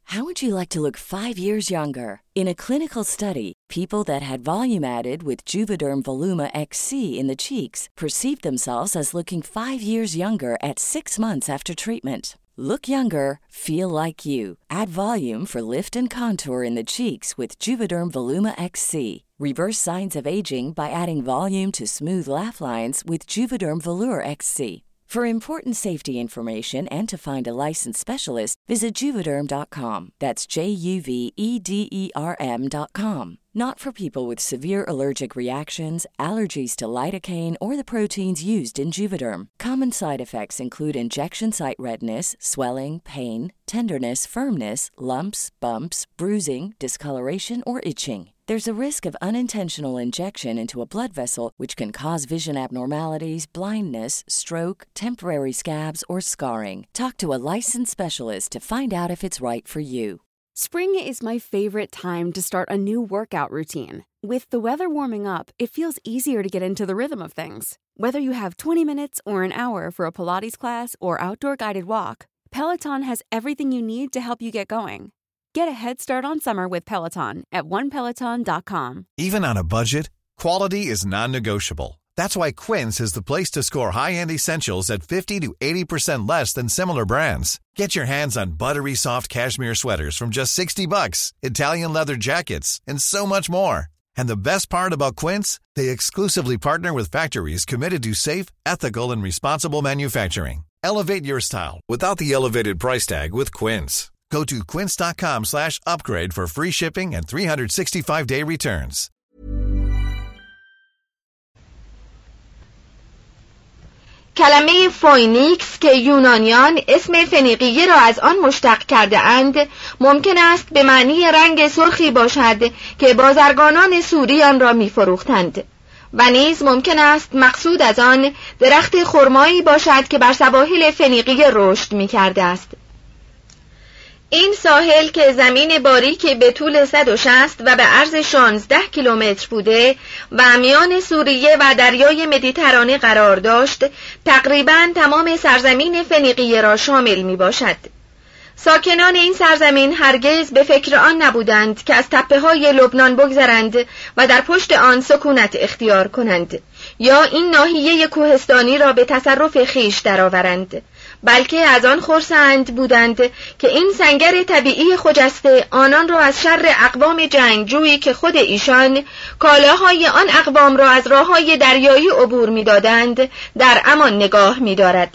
How would you like to look 5 years younger? In a clinical study, people that had volume added with Juvederm Voluma XC in the cheeks perceived themselves as looking 5 years younger at 6 months after treatment. Look younger, feel like you. Add volume for lift and contour in the cheeks with Juvederm Voluma XC. Reverse signs of aging by adding volume to smooth laugh lines with Juvederm Volure XC. For important safety information and to find a licensed specialist, visit Juvederm.com. That's JUVEDERM.com. Not for people with severe allergic reactions, allergies to lidocaine, or the proteins used in Juvederm. Common side effects include injection site redness, swelling, pain, tenderness, firmness, lumps, bumps, bruising, discoloration, or itching. There's a risk of unintentional injection into a blood vessel, which can cause vision abnormalities, blindness, stroke, temporary scabs, or scarring. Talk to a licensed specialist to find out if it's right for you. Spring is my favorite time to start a new workout routine. With the weather warming up, it feels easier to get into the rhythm of things. Whether you have 20 minutes or an hour for a Pilates class or outdoor guided walk, Peloton has everything you need to help you get going. Get a head start on summer with Peloton at onepeloton.com. Even on a budget, quality is non-negotiable. That's why Quince is the place to score high-end essentials at 50 to 80% less than similar brands. Get your hands on buttery soft cashmere sweaters from just $60, Italian leather jackets, and so much more. And the best part about Quince, they exclusively partner with factories committed to safe, ethical, and responsible manufacturing. Elevate your style without the elevated price tag with Quince. Go to quince.com/upgrade for free shipping and 365-day returns. کلمه فوینیکس که یونانیان اسم فنیقیه را از آن مشتق کرده اند ممکن است به معنی رنگ سرخی باشد که بازرگانان سوری آن را می فروختند و نیز ممکن است مقصود از آن درخت خرمایی باشد که بر سواحل فنیقیه رشد می کرده است. این ساحل که زمین باریک به طول 160 و به عرض 16 کیلومتر بوده و میان سوریه و دریای مدیترانه قرار داشت، تقریباً تمام سرزمین فنیقیه را شامل می باشد. ساکنان این سرزمین هرگز به فکر آن نبودند که از تپه‌های لبنان بگذرند و در پشت آن سکونت اختیار کنند یا این ناحیه کوهستانی را به تصرف خیش درآورند، بلکه از آن خرسند بودند که این سنگر طبیعی خجسته آنان را از شر اقوام جنگجویی که خود ایشان کالاهای آن اقوام را از راههای دریایی عبور می‌دادند در امان نگاه می‌دارد.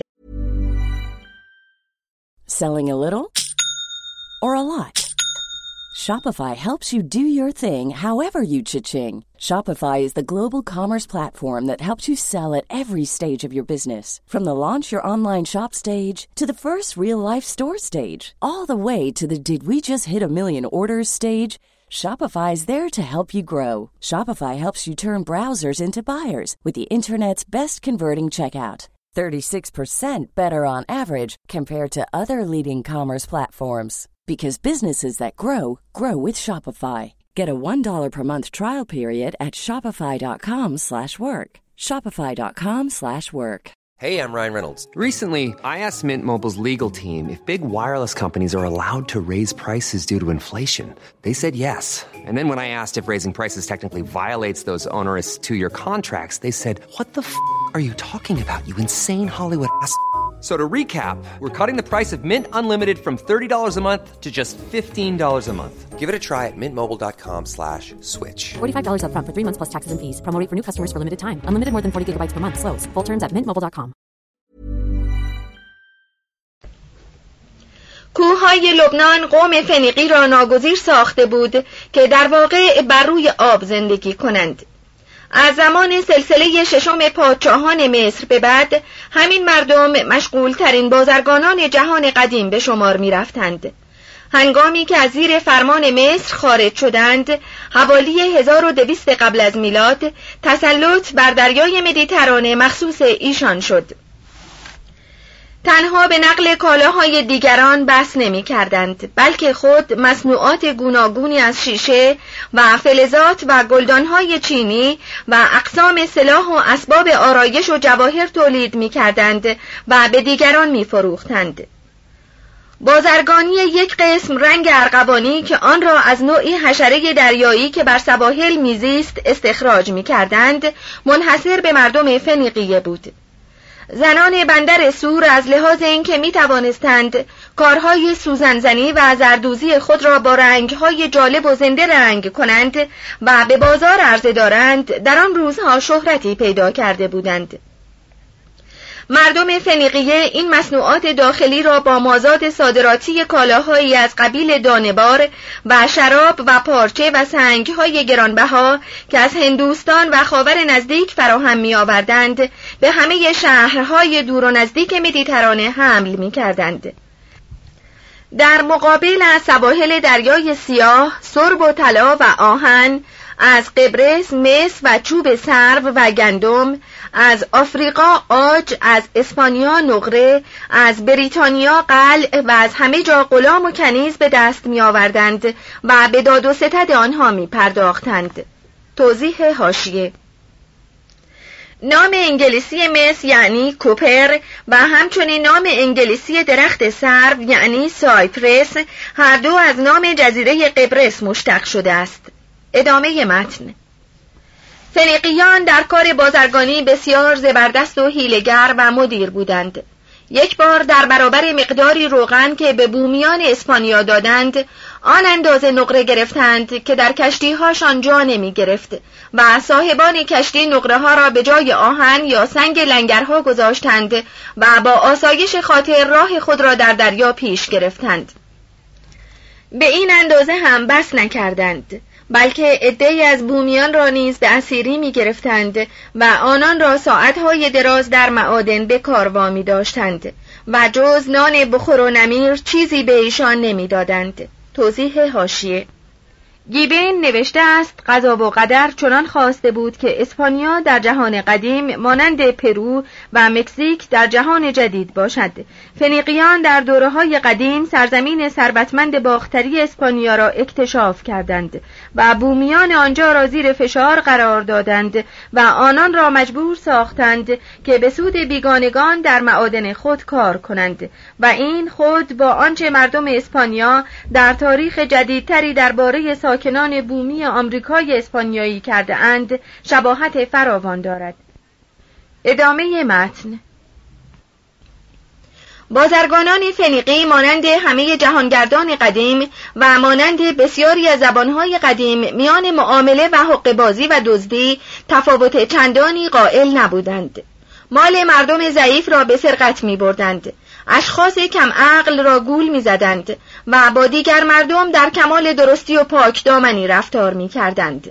Selling a little or a lot? Shopify helps you do your thing however you cha-ching. Shopify is the global commerce platform that helps you sell at every stage of your business. From the launch your online shop stage to the first real-life store stage, all the way to the did we just hit a million orders stage. Shopify is there to help you grow. Shopify helps you turn browsers into buyers with the internet's best converting checkout. 36% better on average compared to other leading commerce platforms. Because businesses that grow, grow with Shopify. Get a $1 per month trial period at shopify.com/work. Shopify.com/work. Hey, I'm Ryan Reynolds. Recently, I asked Mint Mobile's legal team if big wireless companies are allowed to raise prices due to inflation. They said yes. And then when I asked if raising prices technically violates those onerous 2-year contracts, they said, "What the are you talking about, you insane Hollywood ass?" So to recap, we're cutting the price of Mint Unlimited from $30 a month to just $15 a month. Give it a try at mintmobile.com/switch. $45 up front for 3 months plus taxes and fees. Promo rate for new customers for limited time. Unlimited more than 40 gigabytes per month. Slows full terms at mintmobile.com. کوههای لبنان قوم فنیقی را ناگزیر ساخته بود که در واقع بر روی آب زندگی کنند. از زمان سلسله ششم پادشاهان مصر به بعد همین مردم مشغول ترین بازرگانان جهان قدیم به شمار می رفتند. هنگامی که از زیر فرمان مصر خارج شدند، حوالی 1200 قبل از میلاد تسلط بر دریای مدیترانه مخصوص ایشان شد. تنها به نقل کالاهای دیگران بس نمی کردند، بلکه خود مصنوعات گوناگونی از شیشه و فلزات و گلدانهای چینی و اقسام سلاح و اسباب آرایش و جواهر تولید می کردند و به دیگران می فروختند. بازرگانی یک قسم رنگ ارغوانی که آن را از نوعی حشره دریایی که بر سواحل میزیست استخراج می‌کردند، منحصر به مردم فنیقیه بود. زنان بندر سور از لحاظ اینکه می‌توانستند کارهای سوزنزنی و زردوزی خود را با رنگ‌های جالب و زنده رنگ کنند و به بازار عرضه دارند، در آن روزها شهرتی پیدا کرده بودند. مردم فنیقیه این مصنوعات داخلی را با مازاد صادراتی کالاهایی از قبیل دانه‌بار و شراب و پارچه و سنگ‌های گرانبها که از هندوستان و خاور نزدیک فراهم می‌آوردند، به همه شهرهای دور و نزدیک مدیترانه حمل می‌کردند. در مقابل از سواحل دریای سیاه، سرب و طلا و آهن، از قبرس مس و چوب سرو و گندم، از آفریقا عاج، از اسپانیا نقره، از بریتانیا قلع و از همه جا غلام و کنیز به دست می آوردند و به داد و ستد آنها می پرداختند. توضیح حاشیه: نام انگلیسی مس یعنی کوپر و همچنین نام انگلیسی درخت سرو یعنی سایپرس، هر دو از نام جزیره قبرس مشتق شده است. ادامه متن. فنیقیان در کار بازرگانی بسیار زبردست و حیله‌گر و مدیر بودند. یک بار در برابر مقداری روغن که به بومیان اسپانیا دادند، آن اندازه نقره گرفتند که در کشتی‌هاشان جا نمی گرفت و صاحبان کشتی نقره ها را به جای آهن یا سنگ لنگرها گذاشتند و با آسایش خاطر راه خود را در دریا پیش گرفتند. به این اندازه هم بس نکردند، بلکه عده‌ای از بومیان را نیز به اسیری می گرفتند و آنان را ساعتهای دراز در معادن به کار وامی داشتند و جز نان بخور و نمیر چیزی به ایشان نمی دادند. توضیح حاشیه: گیبن نوشته است قضا و قدر چنان خواسته بود که اسپانیا در جهان قدیم مانند پرو و مکزیک در جهان جدید باشد. فنیقیان در دوره‌های قدیم سرزمین ثروتمند باختری اسپانیا را اکتشاف کردند و بومیان آنجا را زیر فشار قرار دادند و آنان را مجبور ساختند که به سود بیگانگان در معادن خود کار کنند و این خود با آنچه مردم اسپانیا در تاریخ جدیدتری درباره ساکنان بومی آمریکای اسپانیایی کرده اند شباهت فراوان دارد. ادامه متن. بازرگانان فنیقی مانند همه جهانگردان قدیم و مانند بسیاری از زبانهای قدیم میان معامله و حقه‌بازی و دزدی تفاوت چندانی قائل نبودند. مال مردم ضعیف را به سرقت می بردند، اشخاص کم عقل را گول می زدند و با دیگر مردم در کمال درستی و پاک دامنی رفتار می کردند.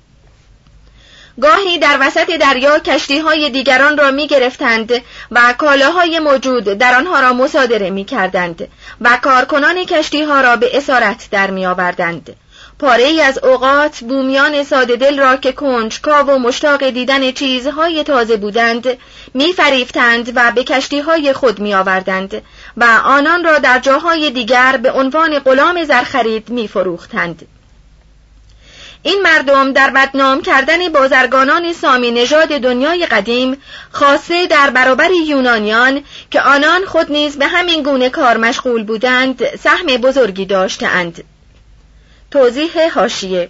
گاهی در وسط دریا کشتی‌های دیگران را می گرفتند و کالاهای موجود در آنها را مصادره می کردند و کارکنان کشتی‌ها را به اسارت در می آوردند. پاره‌ای از اوقات بومیان ساده دل را که کنجکاو و مشتاق دیدن چیزهای تازه بودند می فریفتند و به کشتی‌های خود می آوردند و آنان را در جاهای دیگر به عنوان غلام زرخرید می فروختند. این مردم در بدنام کردن بازرگانان سامی نژاد دنیای قدیم خاصه در برابر یونانیان که آنان خود نیز به همین گونه کار مشغول بودند سهم بزرگی داشتند. توضیح حاشیه: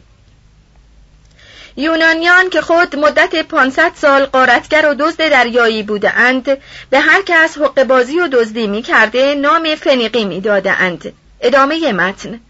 یونانیان که خود مدت 500 سال غارتگر و دزد دریایی بودند به هر کس حقه‌بازی و دزدی می کرده نام فنیقی می دادند. ادامه متن.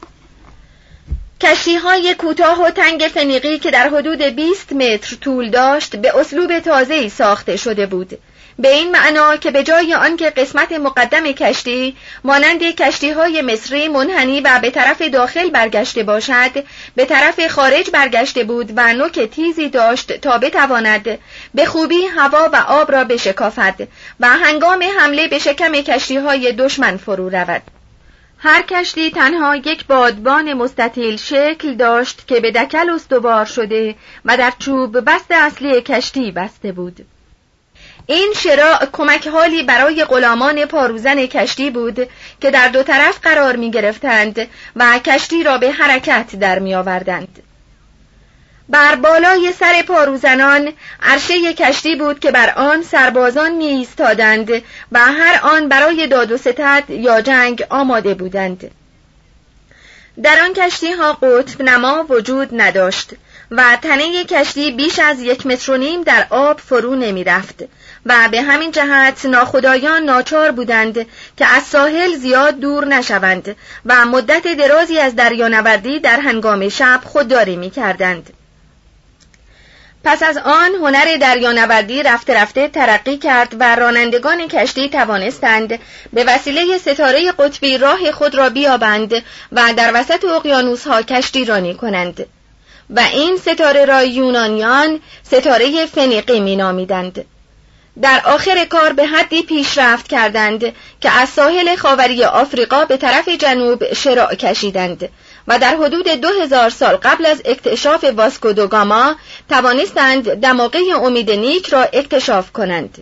کشتی‌های کوتاه و تنگ فنیقی که در حدود 20 متر طول داشت به اسلوب تازه‌ای ساخته شده بود، به این معنا که به جای آنکه قسمت مقدم کشتی مانند کشتی‌های مصری منحنی و به طرف داخل برگشته باشد، به طرف خارج برگشته بود و نوک تیزی داشت تا بتواند به خوبی هوا و آب را بشکافد و هنگام حمله به شکم کشتی‌های دشمن فرو رود. هر کشتی تنها یک بادبان مستطیل شکل داشت که به دکل استوار شده و در چوب بست اصلی کشتی بسته بود. این شراع کمک حالی برای غلامان پاروزن کشتی بود که در دو طرف قرار می گرفتند و کشتی را به حرکت در می آوردند. بر بالای سر پاروزنان عرشه کشتی بود که بر آن سربازان می ایستادند و هر آن برای داد و ستد یا جنگ آماده بودند. در آن کشتی ها قطب نما وجود نداشت و تنه کشتی بیش از 1.5 متر در آب فرو نمی رفت و به همین جهت ناخدایان ناچار بودند که از ساحل زیاد دور نشوند و مدت درازی از دریانوردی در هنگام شب خودداری می کردند. پس از آن هنر دریانوردی رفته رفته ترقی کرد و رانندگان کشتی توانستند به وسیله ستاره قطبی راه خود را بیابند و در وسط اقیانوس‌ها کشتی رانی کنند و این ستاره را یونانیان ستاره فنیقی می نامیدند. در آخر کار به حدی پیشرفت کردند که از ساحل خاوری آفریقا به طرف جنوب شراع کشیدند و در حدود 2000 سال قبل از اکتشاف واسکو دو گاما توانستند دماغه امید نیک را اکتشاف کنند.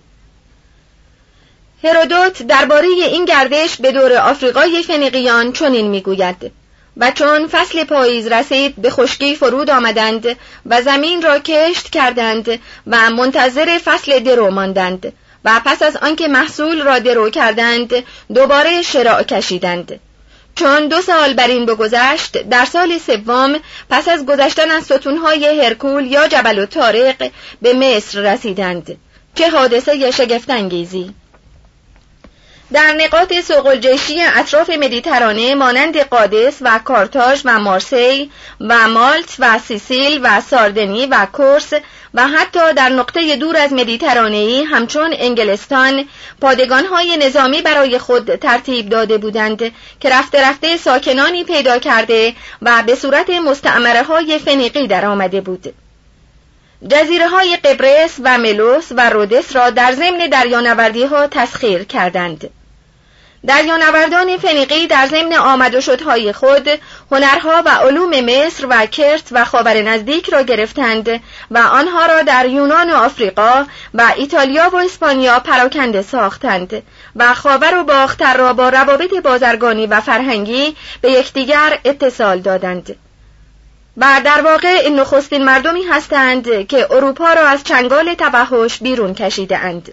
هرودوت درباره این گردش به دور آفریقای فنیقیان چنین میگوید: و چون فصل پاییز رسید به خشکی فرود آمدند و زمین را کشت کردند و منتظر فصل درو ماندند و پس از آنکه محصول را درو کردند دوباره شراع کشیدند. چون 2 سال بر این بگذشت، در سال 3 پس از گذشتن از ستونهای هرکول یا جبل الطارق به مصر رسیدند. چه حادثه شگفت‌انگیزی! در نقاط سوق‌الجیشی اطراف مدیترانه مانند قادس و کارتاژ و مارسی و مالت و سیسیل و ساردنی و کورس و حتی در نقطه دور از مدیترانه‌ای همچون انگلستان پادگان‌های نظامی برای خود ترتیب داده بودند که رفته رفته ساکنانی پیدا کرده و به صورت مستعمره‌های فنیقی در آمده بود. جزیره‌های قبرس و ملوس و رودس را در ضمن دریانوردی‌ها تسخیر کردند. دریانوردان فنیقی در ضمن آمد و شدهای خود هنرها و علوم مصر و کرت و خاور نزدیک را گرفتند و آنها را در یونان و آفریقا و ایتالیا و اسپانیا پراکنده ساختند و خاور و باختر را با روابط بازرگانی و فرهنگی به یکدیگر اتصال دادند. و در واقع نخستین مردمی هستند که اروپا را از چنگال توحش بیرون کشیده اند.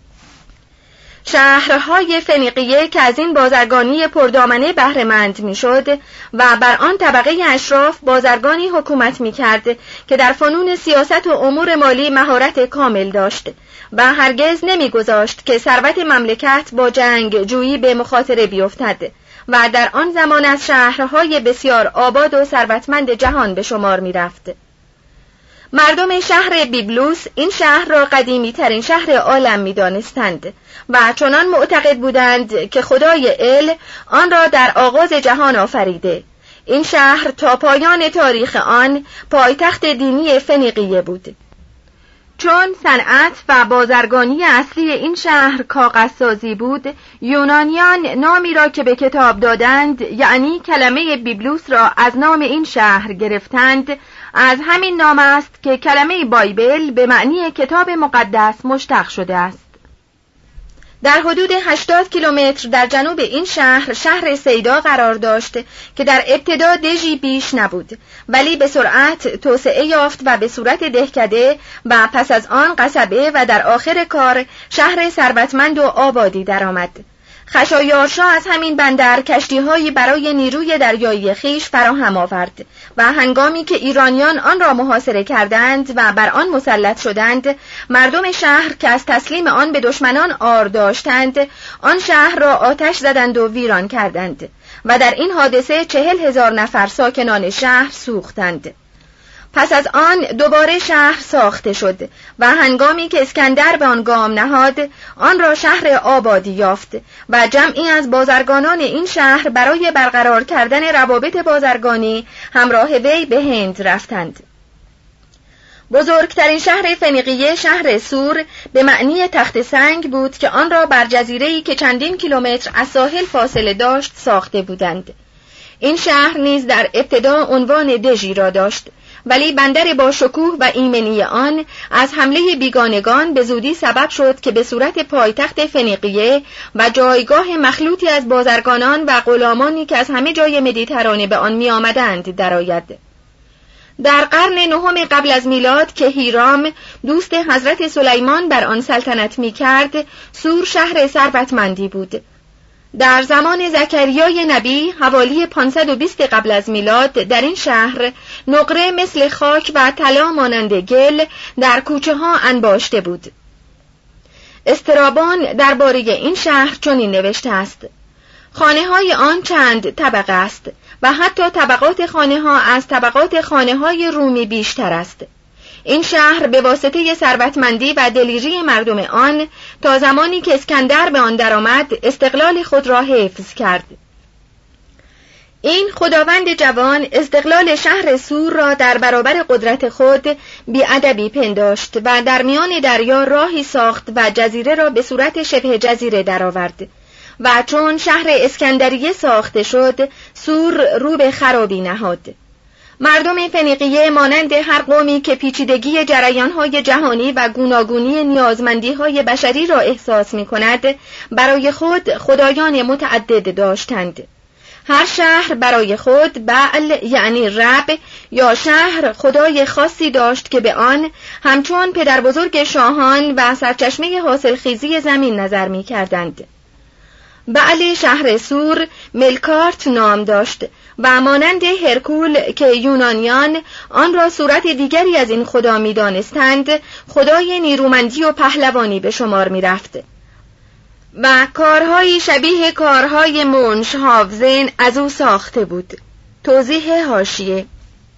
شهرهای فنیقیه که از این بازرگانی پردامنه بهره‌مند میشد و بر آن طبقه اشراف بازرگانی حکومت میکرد که در فنون سیاست و امور مالی مهارت کامل داشت و هرگز نمیگذاشت که ثروت مملکت با جنگ جویی به مخاطره بیفتد و در آن زمان از شهرهای بسیار آباد و ثروتمند جهان به شمار می رفت. مردم شهر بیبلوس این شهر را قدیمی ترین شهر عالم می دانستند و چنان معتقد بودند که خدای ال آن را در آغاز جهان آفریده. این شهر تا پایان تاریخ آن پایتخت دینی فنیقیه بود. چون صنعت و بازرگانی اصلی این شهر کاغذسازی بود، یونانیان نامی را که به کتاب دادند، یعنی کلمه بیبلوس را از نام این شهر گرفتند. از همین نام است که کلمه بایبل به معنی کتاب مقدس مشتق شده است. در حدود 80 کیلومتر در جنوب این شهر سیدا قرار داشت که در ابتدا دژی بیش نبود، ولی به سرعت توسعه یافت و به صورت دهکده و پس از آن قصبه و در آخر کار شهر ثروتمند و آبادی درآمد. خشایارشا از همین بندر کشتی‌هایی برای نیروی دریایی خیش فراهم آورد و هنگامی که ایرانیان آن را محاصره کردند و بر آن مسلط شدند، مردم شهر که از تسلیم آن به دشمنان عار داشتند، آن شهر را آتش زدند و ویران کردند و در این حادثه 40,000 نفر ساکنان شهر سوختند. پس از آن دوباره شهر ساخته شد و هنگامی که اسکندر به آن گام نهاد، آن را شهر آبادی یافت و جمعی از بازرگانان این شهر برای برقرار کردن روابط بازرگانی همراه وی به هند رفتند. بزرگترین شهر فنیقیه شهر سور به معنی تخت سنگ بود که آن را بر جزیره‌ای که چندین کیلومتر از ساحل فاصله داشت ساخته بودند. این شهر نیز در ابتدا عنوان دژی را داشت، ولی بندر با شکوه و ایمنی آن از حمله بیگانگان به زودی سبب شد که به صورت پایتخت فنیقیه و جایگاه مخلوطی از بازرگانان و غلامانی که از همه جای مدیترانه به آن می آمدند درآید. در قرن نهم قبل از میلاد که هیرام دوست حضرت سلیمان بر آن سلطنت می کرد، سور شهر ثروتمندی بود. در زمان زکریای نبی حوالی 520 قبل از میلاد در این شهر نقره مثل خاک و طلا مانند گل در کوچه ها انباشته بود. استرابان درباره این شهر چنین نوشته است: خانه های آن چند طبقه است و حتی طبقات خانه ها از طبقات خانه های رومی بیشتر است. این شهر به واسطه ثروتمندی و دلیری مردم آن تا زمانی که اسکندر به آن درآمد استقلال خود را حفظ کرد. این خداوند جوان استقلال شهر سور را در برابر قدرت خود بی‌ادبی پنداشت و در میان دریا راهی ساخت و جزیره را به صورت شبه جزیره درآورد و چون شهر اسکندریه ساخته شد، سور رو به خرابی نهاد. مردم فنیقیه مانند هر قومی که پیچیدگی جریان‌های جهانی و گوناگونی نیازمندی‌های بشری را احساس می‌کند، برای خود خدایان متعدد داشتند. هر شهر برای خود بعل یعنی رب یا شهر خدای خاصی داشت که به آن همچون پدر بزرگ شاهان و سرچشمه حاصلخیزی زمین نظر می‌کردند. بعل شهر سور ملکارت نام داشت و مانند هرکول که یونانیان آن را صورت دیگری از این خدا می دانستند، خدای نیرومندی و پهلوانی به شمار می رفت و کارهایی شبیه کارهای مونشهاوزن از او ساخته بود. توضیح حاشیه: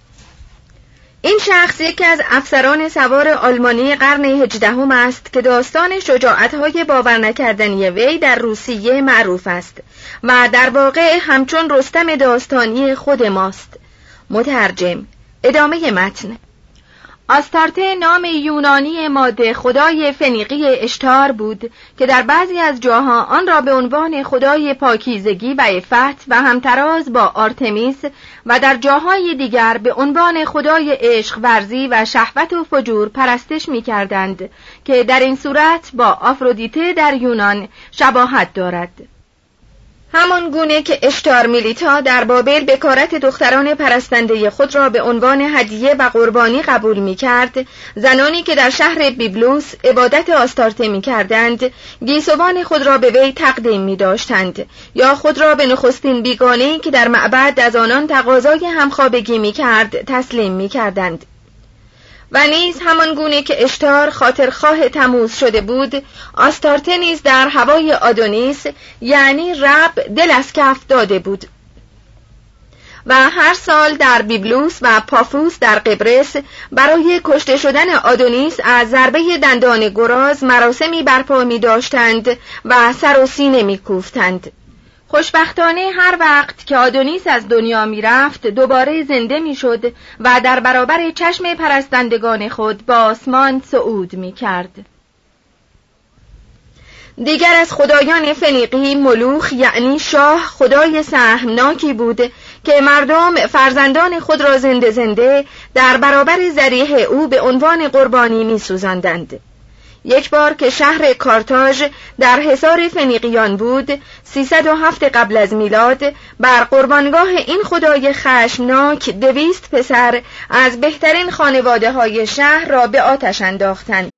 این شخص یکی از افسران سوار آلمانی قرن 18 است که داستان شجاعت‌های باور نکردنی وی در روسیه معروف است و در واقع همچون رستم داستانی خود ماست. مترجم. ادامه متن. آستارته نام یونانی ماده خدای فنیقی اشتار بود که در بعضی از جاها آن را به عنوان خدای پاکیزگی و عفت و همتراز با آرتمیس و در جاهای دیگر به عنوان خدای عشق ورزی و شهوت و فجور پرستش می کردند که در این صورت با آفرودیته در یونان شباهت دارد. همان گونه که اشتار میلیتا در بابل بکارت دختران پرستنده خود را به عنوان هدیه و قربانی قبول می کرد، زنانی که در شهر بیبلوس عبادت آستارته می کردند، گیسوان خود را به وی تقدیم می داشتند یا خود را به نخستین بیگانه‌ای که در معبد از آنان تقاضای همخوابگی می کرد تسلیم می کردند. و نیز همان گونه که اشتار خاطرخواه تموز شده بود، آستارته نیز در هوای آدونیس یعنی رب دل از کف داده بود و هر سال در بیبلوس و پافوس در قبرس برای کشته شدن آدونیس از ضربه دندان گراز مراسمی برپا می داشتند و سر و سینه می کوفتند. خوشبختانه هر وقت که آدونیس از دنیا می رفت دوباره زنده می شد و در برابر چشم پرستندگان خود با آسمان صعود می کرد. دیگر از خدایان فنیقی ملوخ یعنی شاه خدای سهمناکی بود که مردم فرزندان خود را زنده زنده در برابر ذریح او به عنوان قربانی می سوزاندند. یک بار که شهر کارتاژ در حصار فنیقیان بود 307 قبل از میلاد، بر قربانگاه این خدای خشمناک 200 پسر از بهترین خانواده های شهر را به آتش انداختند.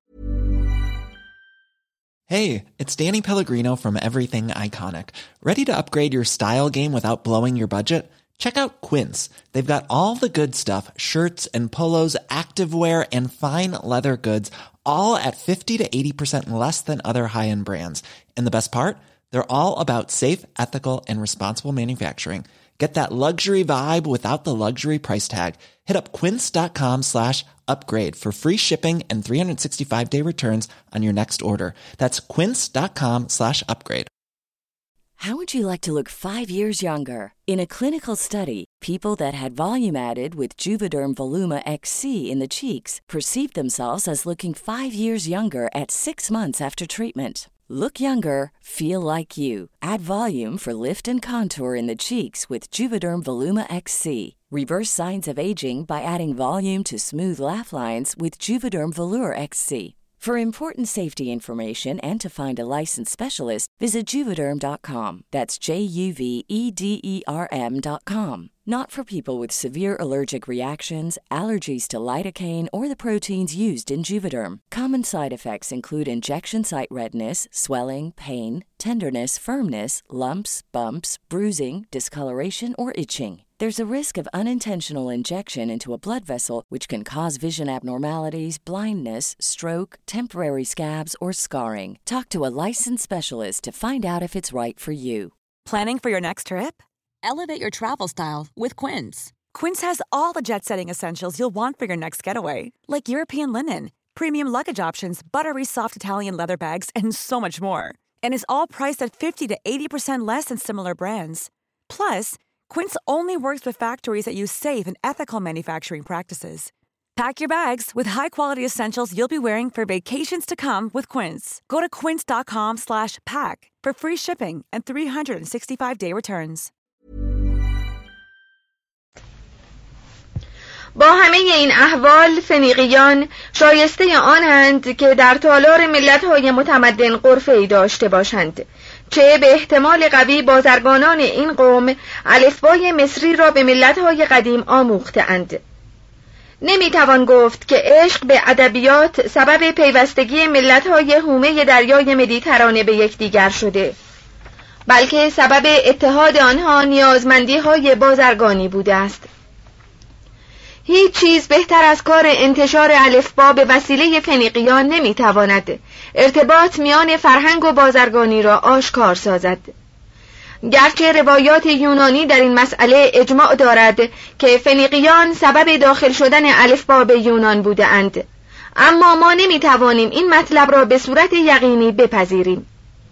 Hey, it's Danny Pellegrino from Everything Iconic. Ready to upgrade your style game without blowing your budget? Check out Quince. They've got all the good stuff, shirts and polos, activewear and fine leather goods, all at 50 to 80% less than other high-end brands. And the best part? They're all about safe, ethical, and responsible manufacturing. Get that luxury vibe without the luxury price tag. Hit up quince.com/upgrade for free shipping and 365-day returns on your next order. That's quince.com/upgrade. How would you like to look 5 years younger? In a clinical study, people that had volume added with Juvederm Voluma XC in the cheeks perceived themselves as looking 5 years younger at 6 months after treatment. Look younger, feel like you. Add volume for lift and contour in the cheeks with Juvederm Voluma XC. Reverse signs of aging by adding volume to smooth laugh lines with Juvederm Volure XC. For important safety information and to find a licensed specialist, visit Juvederm.com. That's JUVEDERM.com. Not for people with severe allergic reactions, allergies to lidocaine, or the proteins used in Juvederm. Common side effects include injection site redness, swelling, pain, tenderness, firmness, lumps, bumps, bruising, discoloration, or itching. There's a risk of unintentional injection into a blood vessel, which can cause vision abnormalities, blindness, stroke, temporary scabs, or scarring. Talk to a licensed specialist to find out if it's right for you. Planning for your next trip? Elevate your travel style with Quince. Quince has all the jet-setting essentials you'll want for your next getaway, like European linen, premium luggage options, buttery soft Italian leather bags, and so much more. And is all priced at 50 to 80% less than similar brands. Plus, Quince only works with factories that use safe and ethical manufacturing practices. Pack your bags with high-quality essentials you'll be wearing for vacations to come with Quince. Go to quince.com/pack for free shipping and 365-day returns. با همه این احوال فنیقیان شایسته آنند که در تالار ملت‌های متمدن غرفه‌ای داشته باشند، چه به احتمال قوی بازرگانان این قوم الفبای مصری را به ملت‌های قدیم آموخته‌اند. نمیتوان گفت که عشق به ادبیات سبب پیوستگی ملت‌های حومه دریای مدیترانه به یکدیگر شده، بلکه سبب اتحاد آنها نیازمندی‌های بازرگانی بوده است. هیچ چیز بهتر از کار انتشار الفبا به وسیله فنیقیان نمیتواند ارتباط میان فرهنگ و بازرگانی را آشکار سازد. گرچه روایات یونانی در این مسئله اجماع دارد که فنیقیان سبب داخل شدن الفبا به یونان بوده اند، اما ما نمیتوانیم این مطلب را به صورت یقینی بپذیریم.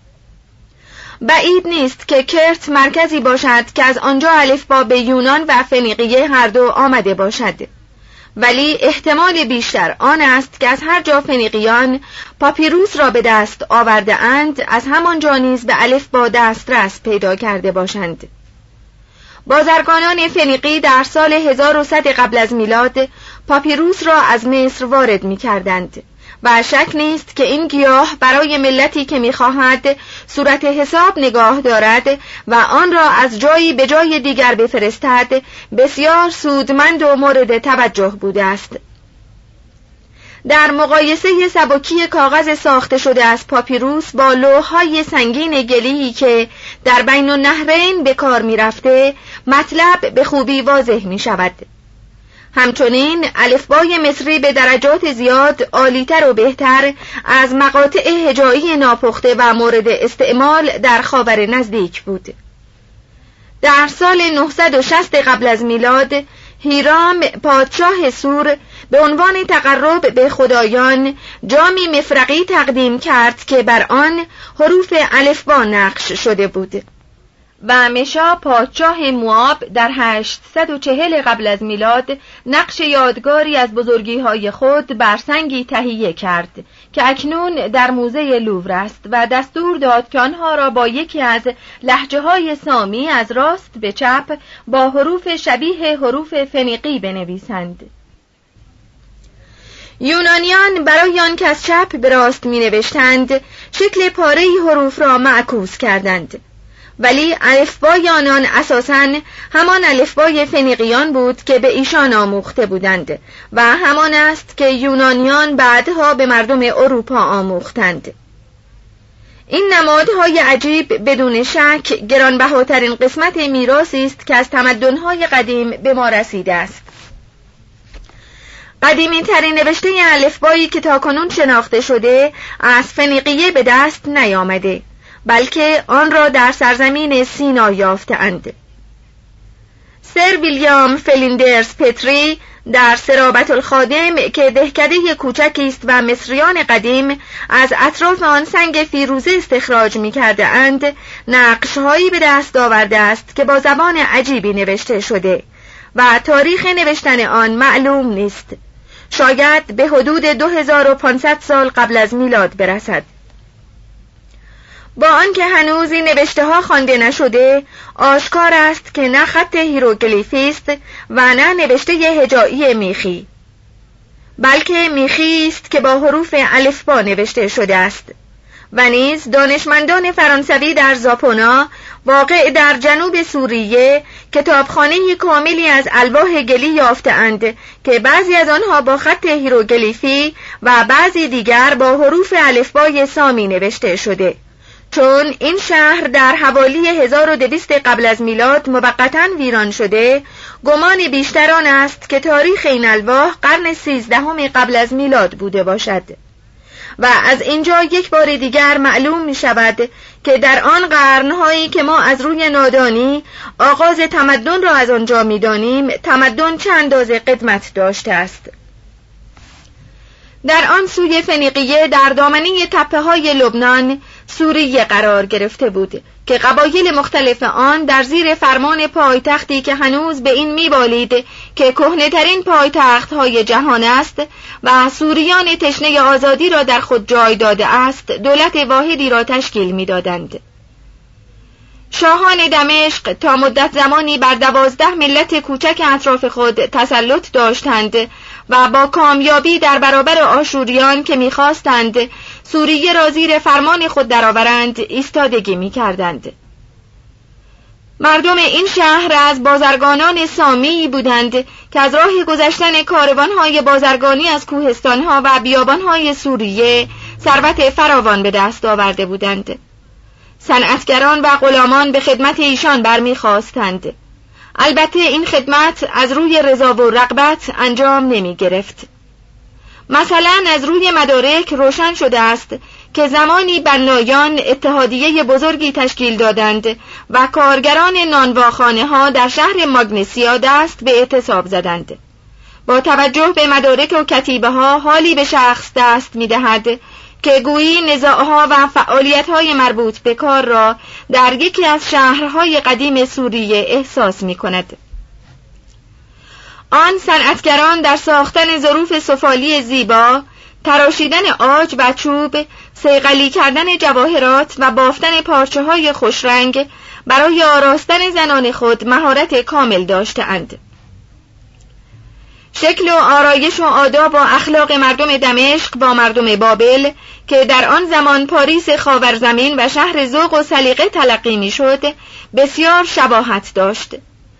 بعید نیست که کرت مرکزی باشد که از آنجا الفبا به یونان و فنیقیه هر دو آمده باشد، ولی احتمال بیشتر آن است که از هر جا فنیقیان پاپیروس را به دست آورده اند، از همانجا نیز به الفبا دسترس پیدا کرده باشند. بازرگانان فنیقی در سال 1100 قبل از میلاد پاپیروس را از مصر وارد می کردند و شک نیست که این گیاه برای ملتی که می‌خواهد صورت حساب نگاه دارد و آن را از جایی به جای دیگر بفرستد بسیار سودمند و مورد توجه بوده است. در مقایسه سبکی کاغذ ساخته شده از پاپیروس با لوح‌های سنگین گلی که در بین النهرین به کار می‌رفته، مطلب به خوبی واضح می‌شود. همچنین الفبای مصری به درجات زیاد عالی‌تر و بهتر از مقاطع هجایی ناپخته و مورد استعمال در خاور نزدیک بود. در سال 960 قبل از میلاد هیرام پادشاه سور به عنوان تقرب به خدایان جامی مفرقی تقدیم کرد که بر آن حروف الفبا نقش شده بود و مشا پادشاه موآب در 840 قبل از میلاد نقش یادگاری از بزرگی‌های خود بر سنگی تهیه کرد که اکنون در موزه لوور است و دستور داد که آنها را با یکی از لهجه‌های سامی از راست به چپ با حروف شبیه حروف فنیقی بنویسند. یونانیان برای آن که از چپ به راست می‌نوشتند شکل پاره‌ای حروف را معکوس کردند، ولی الفبای آنان اساساً همان الفبای فنیقیان بود که به ایشان آموخته بودند و همان است که یونانیان بعدها به مردم اروپا آموختند. این نمادهای عجیب بدون شک گرانبهاترین قسمت میراثی است که از تمدن‌های قدیم به ما رسیده است. قدیمی ترین نوشته الفبایی که تاکنون شناخته شده از فنیقیه به دست نیامده، بلکه آن را در سرزمین سینا یافته‌اند. سر ویلیام فلیندرز پتری در سرابت الخادم که دهکده کوچکی است و مصریان قدیم از اطراف آن سنگ فیروزه استخراج می‌کرده اند، نقش‌هایی به دست آورده است که با زبان عجیبی نوشته شده و تاریخ نوشتن آن معلوم نیست. شاید به حدود 2500 سال قبل از میلاد برسد. با آنکه هنوز این نوشته ها خوانده نشده، آشکار است که نه خط هیروگلیفی است و نه نوشته هجایی میخی، بلکه میخی است که با حروف الفبا نوشته شده است و نیز دانشمندان فرانسوی در زاپونا واقع در جنوب سوریه کتابخانه کاملی از الواح گلی یافته‌اند که بعضی از آنها با خط هیروگلیفی و بعضی دیگر با حروف الفبای سامی نوشته شده. چون این شهر در حوالی 1200 قبل از میلاد موقتاً ویران شده، گمان بیشتر آن است که تاریخ این الواح قرن 13 قبل از میلاد بوده باشد. و از اینجا یک بار دیگر معلوم می شود که در آن قرنهایی که ما از روی نادانی آغاز تمدن را از آنجا می دانیم، تمدن چه اندازه قدمت داشته است. در آن سوی فنیقیه در دامنه تپه های لبنان سوریه قرار گرفته بود که قبایل مختلف آن در زیر فرمان پایتختی که هنوز به این میبالید که کهنه‌ترین پایتخت‌های جهان است و سوریان تشنه آزادی را در خود جای داده است، دولت واحدی را تشکیل میدادند. شاهان دمشق تا مدت زمانی بر 12 ملت کوچک اطراف خود تسلط داشتند و با کامیابی در برابر آشوریان که می‌خواستند سوریه را زیر فرمان خود درآورند ایستادگی می‌کردند. مردم این شهر از بازرگانان سامی بودند که از راه گذشتن کاروان‌های بازرگانی از کوهستان‌ها و بیابان‌های سوریه ثروت فراوان به دست آورده بودند. صنعتگران و غلامان به خدمت ایشان برمیخواستند. البته این خدمت از روی رضا و رغبت انجام نمی گرفت. مثلا از روی مدارک روشن شده است که زمانی بنایان اتحادیه بزرگی تشکیل دادند و کارگران نانواخانه ها در شهر ماگنسیا دست به اعتصاب زدند. با توجه به مدارک و کتیبه ها حالی به شخص دست می دهد که گویی نزاعها و فعالیت‌های مربوط به کار را در یکی از شهرهای قدیم سوریه احساس می‌کند. آن صنعتگران در ساختن ظروف سفالی زیبا، تراشیدن عاج و چوب، صیقلی کردن جواهرات و بافتن پارچه‌های خوشرنگ برای آراستن زنان خود مهارت کامل داشته‌اند. شکل و آرایش و آداب و اخلاق مردم دمشق با مردم بابل که در آن زمان پاریس خاورزمین و شهر ذوق و سلیقه تلقی می‌شد بسیار شباهت داشت.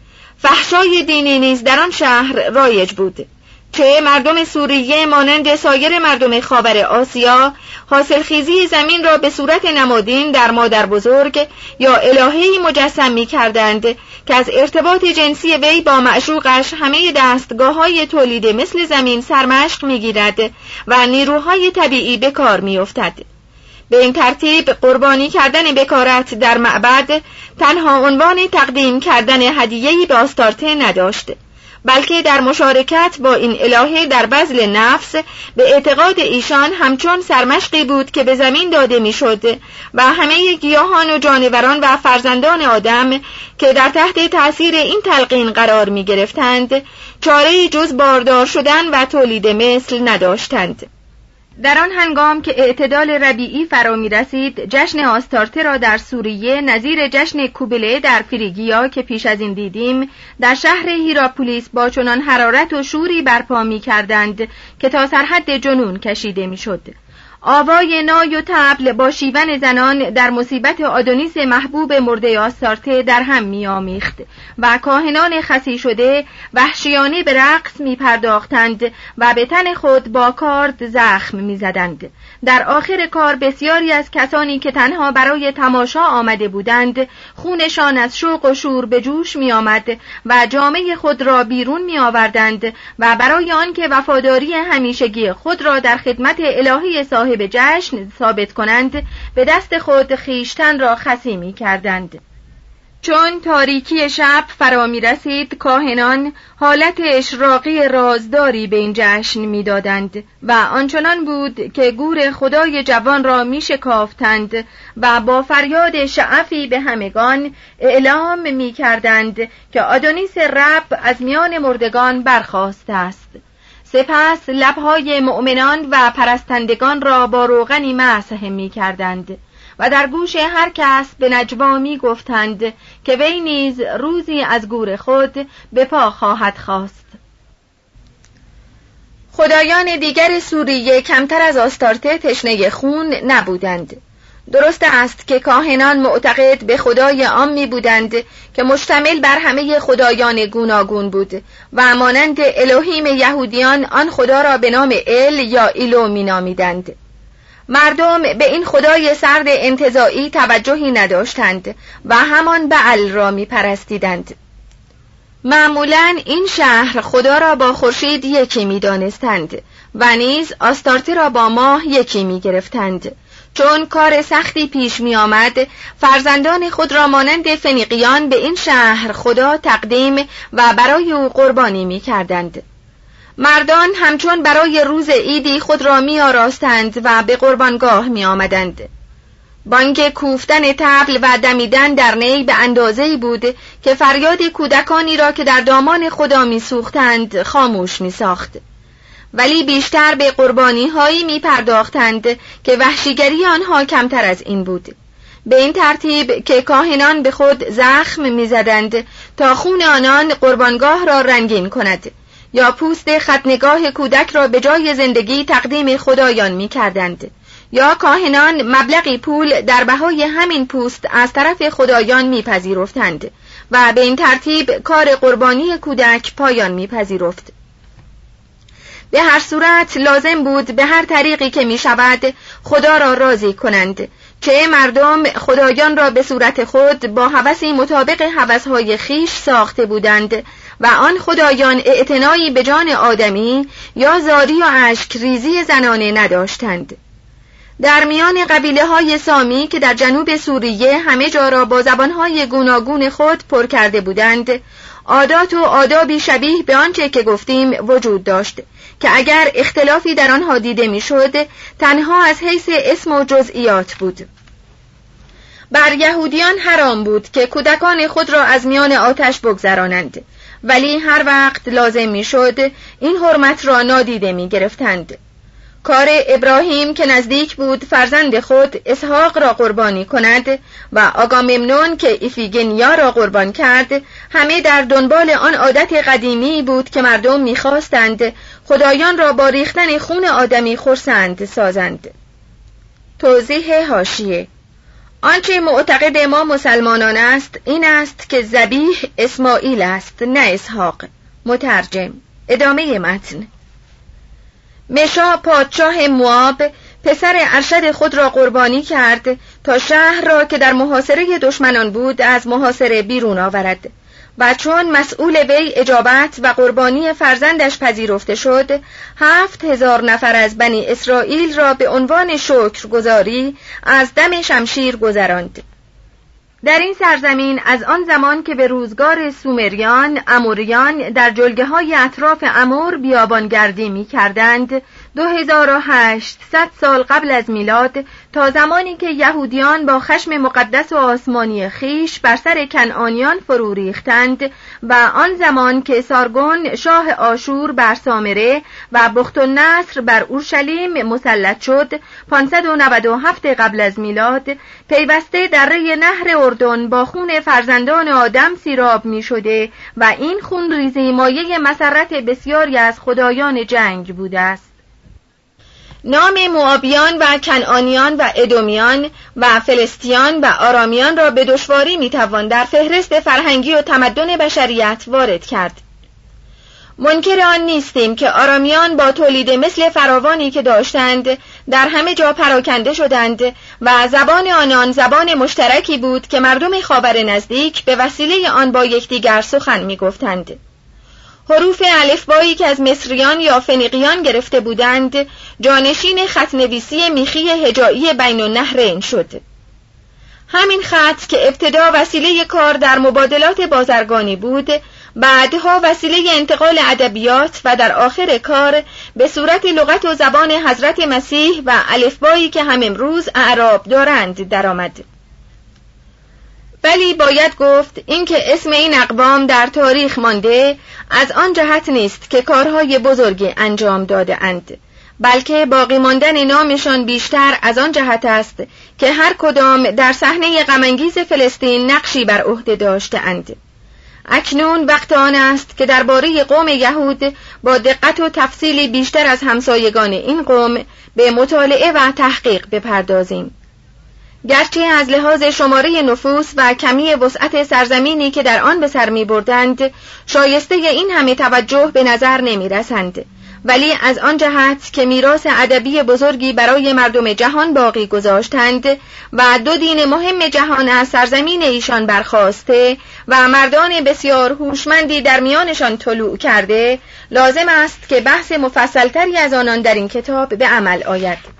فحشای دینی نیز در آن شهر رایج بود. چه مردم سوریه مانند سایر مردم خاور آسیا حاصلخیزی زمین را به صورت نمادین در مادر بزرگ یا الهه‌ای مجسم می‌کردند که از ارتباط جنسی وی با معشوقش همه دستگاه‌های تولید مثل زمین سرمشق می‌گیرد و نیروهای طبیعی به کار می‌افتد. به این ترتیب قربانی کردن بکارت در معبد تنها عنوان تقدیم کردن هدیه‌ای به آستارته نداشت، بلکه در مشارکت با این الهه در بذل نفس به اعتقاد ایشان همچون سرمشقی بود که به زمین داده میشد و همه گیاهان و جانوران و فرزندان آدم که در تحت تأثیر این تلقین قرار می گرفتند چاره‌ای جز باردار شدن و تولید مثل نداشتند. در آن هنگام که اعتدال ربیعی فرا می رسید، جشن آستارته را در سوریه نظیر جشن کوبله در فریگیا که پیش از این دیدیم در شهر هیراپولیس با چنان حرارت و شوری برپا می کردند که تا سرحد جنون کشیده می شد. آوای نای و طبل با شیون زنان در مصیبت آدونیس محبوب مرده آستارته در هم می آمیخت و کاهنان خسی شده وحشیانه به رقص می پرداختند و به تن خود با کارد زخم می زدند. در آخر کار بسیاری از کسانی که تنها برای تماشا آمده بودند خونشان از شوق و شور به جوش می آمد و جامه خود را بیرون می آوردند و برای آنکه وفاداری همیشگی خود را در خدمت الهی صاحب جشن ثابت کنند به دست خود خیشتن را خسی می کردند. چون تاریکی شب فرا می رسید کاهنان حالت اشراقی رازداری به این جشن می دادند و آنچنان بود که گور خدای جوان را می شکافتند و با فریاد شعفی به همگان اعلام می کردند که آدونیس رب از میان مردگان برخاسته است. سپس لبهای مؤمنان و پرستندگان را با روغنی مسح می کردند و در گوش هر کس به نجوا می گفتند که وی نیز روزی از گور خود به پا خواهد خاست. خدایان دیگر سوریه کمتر از آستارته تشنه خون نبودند. درست است که کاهنان معتقد به خدای عامی بودند که مشتمل بر همه خدایان گوناگون بود و مانند الوهیم یهودیان آن خدا را به نام ال یا ایلو می نامیدند. مردم به این خدای سرد انتزاعی توجهی نداشتند و همان بعل را می پرستیدند. معمولاً این شهر خدا را با خورشید یکی می دانستند و نیز آستارته را با ماه یکی می گرفتند. چون کار سختی پیش می آمد، فرزندان خود را مانند فنیقیان به این شهر خدا تقدیم و برای او قربانی می کردند. مردان همچون برای روز عیدی خود را می آراستند و به قربانگاه می آمدند. بانگ کوفتن طبل و دمیدن در نی به اندازه‌ای بود که فریاد کودکانی را که در دامان خدا می سوختند خاموش می ساخت. ولی بیشتر به قربانی هایی می پرداختند که وحشیگری آنها کمتر از این بود. به این ترتیب که کاهنان به خود زخم می زدند تا خون آنان قربانگاه را رنگین کند، یا پوست ختنگاه کودک را به جای زندگی تقدیم خدایان می کردند، یا کاهنان مبلغی پول در بهای همین پوست از طرف خدایان می پذیرفتند و به این ترتیب کار قربانی کودک پایان می پذیرفت. به هر صورت لازم بود به هر طریقی که می شود خدا را راضی کنند، چه مردم خدایان را به صورت خود با هوسی مطابق هوسهای خیش ساخته بودند و آن خدایان اعتنایی به جان آدمی یا زاری و اشک ریزی زنانه نداشتند. در میان قبیله های سامی که در جنوب سوریه همه جا را با زبانهای گوناگون خود پر کرده بودند، عادات و آدابی شبیه به آنچه که گفتیم وجود داشت که اگر اختلافی در آنها دیده میشد تنها از حیث اسم و جزئیات بود. بر یهودیان حرام بود که کودکان خود را از میان آتش بگذرانند، ولی هر وقت لازم میشد این حرمت را نادیده می گرفتند. کار ابراهیم که نزدیک بود فرزند خود اسحاق را قربانی کند و آگاممنون که ایفیگنیا را قربان کرد، همه در دنبال آن عادت قدیمی بود که مردم می‌خواستند خدایان را با ریختن خون آدمی خرسند سازند. توضیح حاشیه: آنچه معتقد ما مسلمانان است این است که ذبیح اسماعیل است نه اسحاق. مترجم. ادامه متن. مشا پادشاه موآب پسر ارشد خود را قربانی کرد تا شهر را که در محاصره دشمنان بود از محاصره بیرون آورد و چون مسئول وی اجابت و قربانی فرزندش پذیرفته شد 7,000 نفر از بنی اسرائیل را به عنوان شکرگزاری از دم شمشیر گذراند. در این سرزمین از آن زمان که به روزگار سومریان، اموریان در جلگه‌های اطراف امور بیابانگردی می‌کردند 2800 سال قبل از میلاد تا زمانی که یهودیان با خشم مقدس و آسمانی خیش بر سر کنعانیان فرو ریختند و آن زمان که سارگون شاه آشور بر سامره و بختالنصر بر اورشلیم مسلط شد 597 قبل از میلاد، پیوسته دره نهر اردن با خون فرزندان آدم سیراب می شده و این خون ریزی مایه مسرت بسیاری از خدایان جنگ بوده است. نام موآبیان و کنعانیان و ادومیان و فلسطیان و آرامیان را به دشواری میتوان در فهرست فرهنگی و تمدن بشریت وارد کرد. منکر آن نیستیم که آرامیان با تولید مثل فراوانی که داشتند در همه جا پراکنده شدند و زبان آنان زبان مشترکی بود که مردم خاور نزدیک به وسیله آن با یکدیگر سخن میگفتند. حروف الفبایی که از مصریان یا فنیقیان گرفته بودند جانشین خط‌نویسی میخی هجایی بین النهرین شد. همین خط که ابتدا وسیله کار در مبادلات بازرگانی بود، بعدها وسیله انتقال ادبیات و در آخر کار به صورت لغت و زبان حضرت مسیح و الفبایی که هم امروز اعراب دارند درآمد. ولی باید گفت اینکه اسم این اقوام در تاریخ مانده از آن جهت نیست که کارهای بزرگی انجام داده اند، بلکه باقی ماندن نامشان بیشتر از آن جهت است که هر کدام در صحنه غم‌انگیز فلسطین نقشی بر عهده داشته اند. اکنون وقت آن است که درباره قوم یهود با دقت و تفصیلی بیشتر از همسایگان این قوم به مطالعه و تحقیق بپردازیم. گرچه از لحاظ شماره نفوس و کمی وسعت سرزمینی که در آن به سر می بردند شایسته این همه توجه به نظر نمی رسند، ولی از آن جهت که میراث ادبی بزرگی برای مردم جهان باقی گذاشتند و دو دین مهم جهان از سرزمین ایشان برخاسته و مردان بسیار هوشمندی در میانشان طلوع کرده، لازم است که بحث مفصلتری از آنان در این کتاب به عمل آید.